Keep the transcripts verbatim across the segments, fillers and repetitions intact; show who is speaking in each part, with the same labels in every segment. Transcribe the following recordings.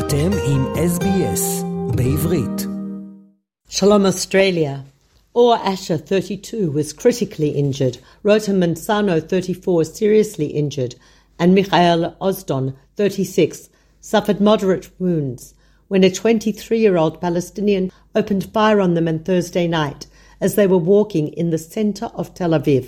Speaker 1: אתם עם S B S בעברית.
Speaker 2: Shalom Australia. Or Asher, thirty-two, was critically injured, Rota Mansano, thirty-four, seriously injured, and Michael Ozdon, thirty-six, suffered moderate wounds when a twenty-three-year-old Palestinian opened fire on them on Thursday night as they were walking in the centre of Tel Aviv.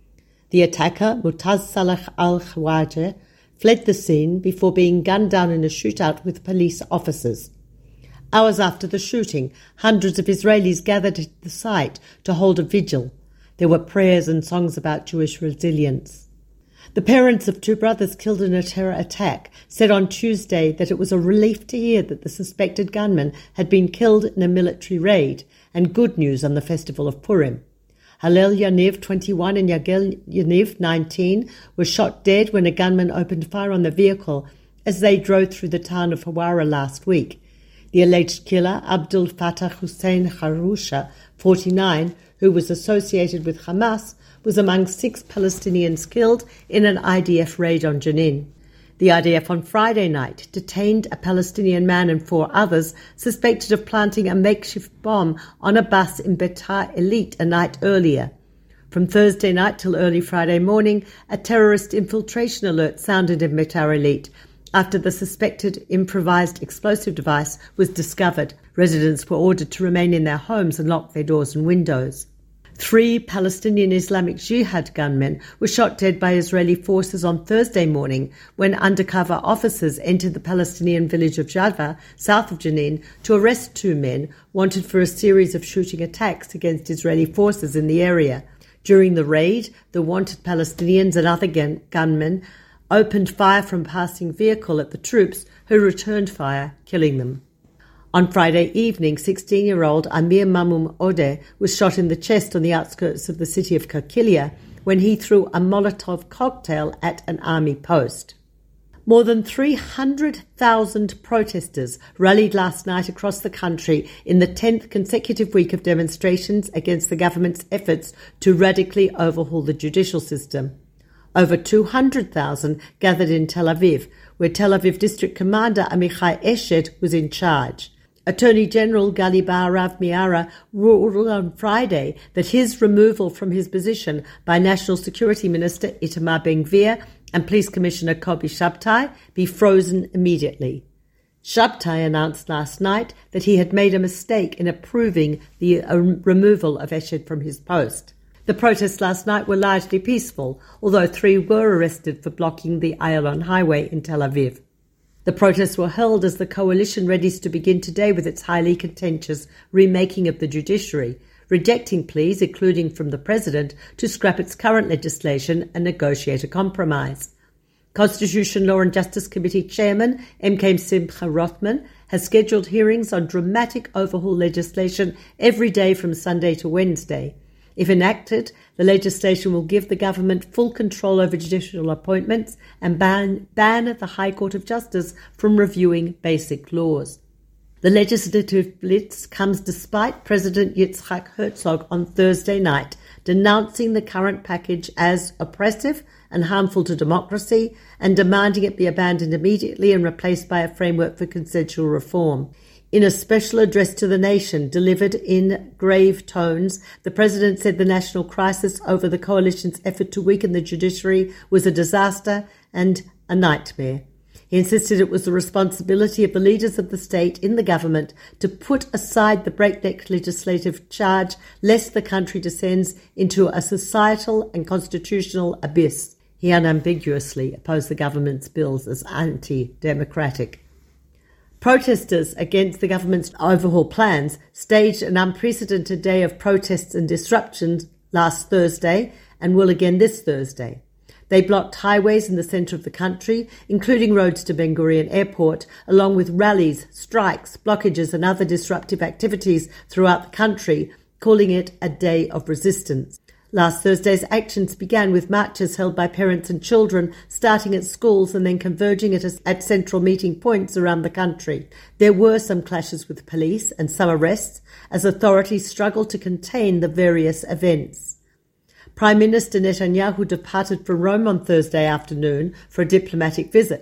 Speaker 2: The attacker, Mutaz Salah al-Khwaja, fled the scene before being gunned down in a shootout with police officers. Hours after the shooting, hundreds of Israelis gathered at the site to hold a vigil. There were prayers and songs about Jewish resilience. The parents of two brothers killed in a terror attack said on Tuesday that it was a relief to hear that the suspected gunman had been killed in a military raid, and good news on the festival of Purim. Hallel Yaniv, twenty-one, and Yagel Yaniv, nineteen, were shot dead when a gunman opened fire on the vehicle as they drove through the town of Hawara last week. The alleged killer, Abdul Fattah Hussein Harusha, forty-nine, who was associated with Hamas, was among six Palestinians killed in an I D F raid on Jenin. The I D F on Friday night detained a Palestinian man and four others suspected of planting a makeshift bomb on a bus in Beitar Elite a night earlier. From Thursday night till early Friday morning, a terrorist infiltration alert sounded in Beitar Elite after the suspected improvised explosive device was discovered. Residents were ordered to remain in their homes and lock their doors and windows. Three Palestinian Islamic Jihad gunmen were shot dead by Israeli forces on Thursday morning when undercover officers entered the Palestinian village of Jadva, south of Jenin, to arrest two men wanted for a series of shooting attacks against Israeli forces in the area. During the raid, the wanted Palestinians and other gun- gunmen opened fire from a passing vehicle at the troops, who returned fire, killing them. On Friday evening, sixteen-year-old Amir Mamum Odeh was shot in the chest on the outskirts of the city of Kakilia when he threw a Molotov cocktail at an army post. More than three hundred thousand protesters rallied last night across the country in the tenth consecutive week of demonstrations against the government's efforts to radically overhaul the judicial system. Over two hundred thousand gathered in Tel Aviv, where Tel Aviv District Commander Amichai Eshed was in charge. Attorney General Gali Baharav Miara ruled on Friday that his removal from his position by National Security Minister Itamar Ben-Gvir and Police Commissioner Kobi Shabtai be frozen immediately. Shabtai announced last night that he had made a mistake in approving the uh, removal of Eshed from his post. The protests last night were largely peaceful, although three were arrested for blocking the Ayalon Highway in Tel Aviv. The protests were held as the coalition readies to begin today with its highly contentious remaking of the judiciary, rejecting pleas, including from the president, to scrap its current legislation and negotiate a compromise. Constitution, Law and Justice Committee Chairman M K Simcha Rothman has scheduled hearings on dramatic overhaul legislation every day from Sunday to Wednesday. If enacted, the legislation will give the government full control over judicial appointments and ban, ban the High Court of Justice from reviewing basic laws. The legislative blitz comes despite President Yitzhak Herzog on Thursday night denouncing the current package as oppressive and harmful to democracy and demanding it be abandoned immediately and replaced by a framework for consensual reform. In a special address to the nation delivered in grave tones, the president said the national crisis over the coalition's effort to weaken the judiciary was a disaster and a nightmare. He insisted it was the responsibility of the leaders of the state in the government to put aside the breakneck legislative charge lest the country descends into a societal and constitutional abyss. He unambiguously opposed the government's bills as anti-democratic. Protesters against the government's overhaul plans staged an unprecedented day of protests and disruptions last Thursday and will again this Thursday. They blocked highways in the centre of the country, including roads to Ben Gurion Airport, along with rallies, strikes, blockages and other disruptive activities throughout the country, calling it a day of resistance. Last Thursday's actions began with marches held by parents and children, starting at schools and then converging at, a, at central meeting points around the country. There were some clashes with police and some arrests as authorities struggled to contain the various events. Prime Minister Netanyahu departed from Rome on Thursday afternoon for a diplomatic visit.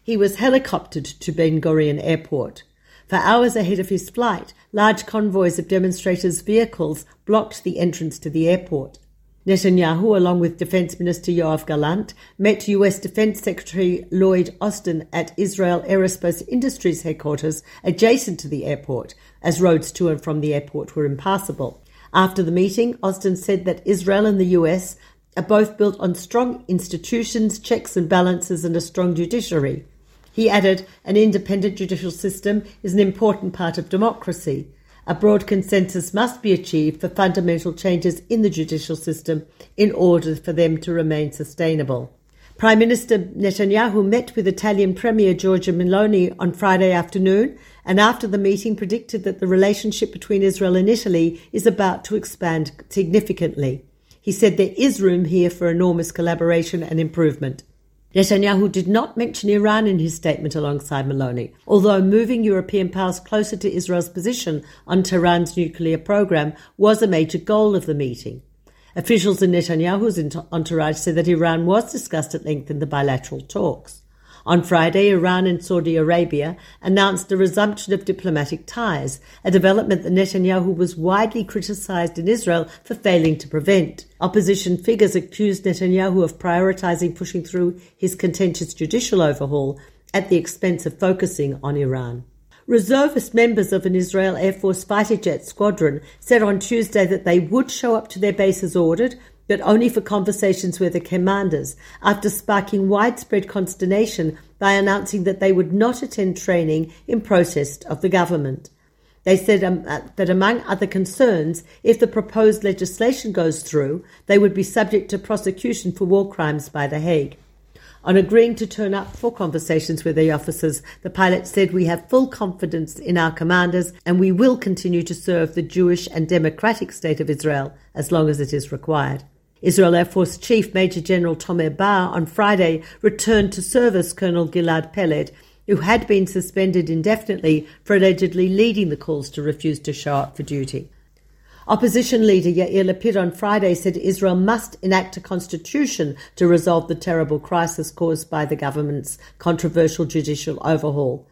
Speaker 2: He was helicoptered to Ben Gurion Airport. For hours ahead of his flight, large convoys of demonstrators' vehicles blocked the entrance to the airport. Netanyahu, along with Defense Minister Yoav Gallant, met U S Defense Secretary Lloyd Austin at Israel Aerospace Industries headquarters adjacent to the airport, as roads to and from the airport were impassable. After the meeting, Austin said that Israel and the U S are both built on strong institutions, checks and balances, and a strong judiciary. He added, an independent judicial system is an important part of democracy. A broad consensus must be achieved for fundamental changes in the judicial system in order for them to remain sustainable. Prime Minister Netanyahu met with Italian Premier Giorgia Meloni on Friday afternoon, and after the meeting predicted that the relationship between Israel and Italy is about to expand significantly. He said there is room here for enormous collaboration and improvement. Netanyahu did not mention Iran in his statement alongside Meloni, although moving European powers closer to Israel's position on Tehran's nuclear program was a major goal of the meeting. Officials in Netanyahu's entourage said that Iran was discussed at length in the bilateral talks. On Friday, Iran and Saudi Arabia announced the resumption of diplomatic ties, a development that Netanyahu was widely criticized in Israel for failing to prevent. Opposition figures accused Netanyahu of prioritizing pushing through his contentious judicial overhaul at the expense of focusing on Iran. Reservist members of an Israel Air Force fighter jet squadron said on Tuesday that they would show up to their base as ordered, but only for conversations with the commanders, after sparking widespread consternation by announcing that they would not attend training in protest of the government. They said um, uh, that among other concerns, if the proposed legislation goes through, they would be subject to prosecution for war crimes by The Hague. On agreeing to turn up for conversations with the officers, the pilot said, "We have full confidence in our commanders and we will continue to serve the Jewish and democratic state of Israel as long as it is required." Israel Air Force Chief Major General Tomer Bar on Friday returned to service Colonel Gilad Peled, who had been suspended indefinitely for allegedly leading the calls to refuse to show up for duty. Opposition leader Yair Lapid on Friday said Israel must enact a constitution to resolve the terrible crisis caused by the government's controversial judicial overhaul.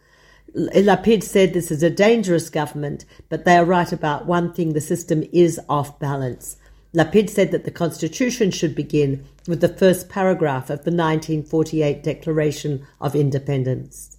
Speaker 2: Lapid said this is a dangerous government, but they are right about one thing: the system is off balance. Lapid said that the constitution should begin with the first paragraph of the nineteen forty-eight Declaration of Independence.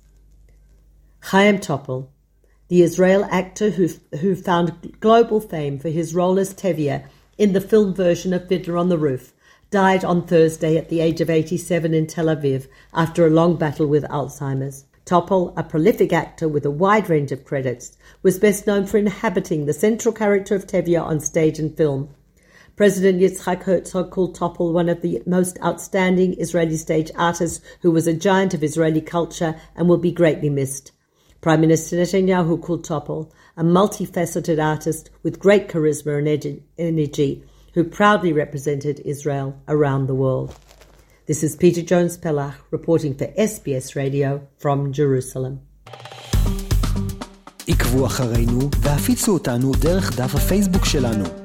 Speaker 2: Chaim Topol, the Israel actor who, who found global fame for his role as Tevye in the film version of Fiddler on the Roof, died on Thursday at the age of eighty-seven in Tel Aviv after a long battle with Alzheimer's. Topol, a prolific actor with a wide range of credits, was best known for inhabiting the central character of Tevye on stage and film. President Yitzhak Herzog called Topol one of the most outstanding Israeli stage artists who was a giant of Israeli culture and will be greatly missed. Prime Minister Netanyahu called Topol a multifaceted artist with great charisma and energy who proudly represented Israel around the world. This is Peter Jones-Pellach reporting for S B S Radio from Jerusalem.
Speaker 1: עקבו אחרינו והפיצו אותנו דרך דף הפייסבוק שלנו.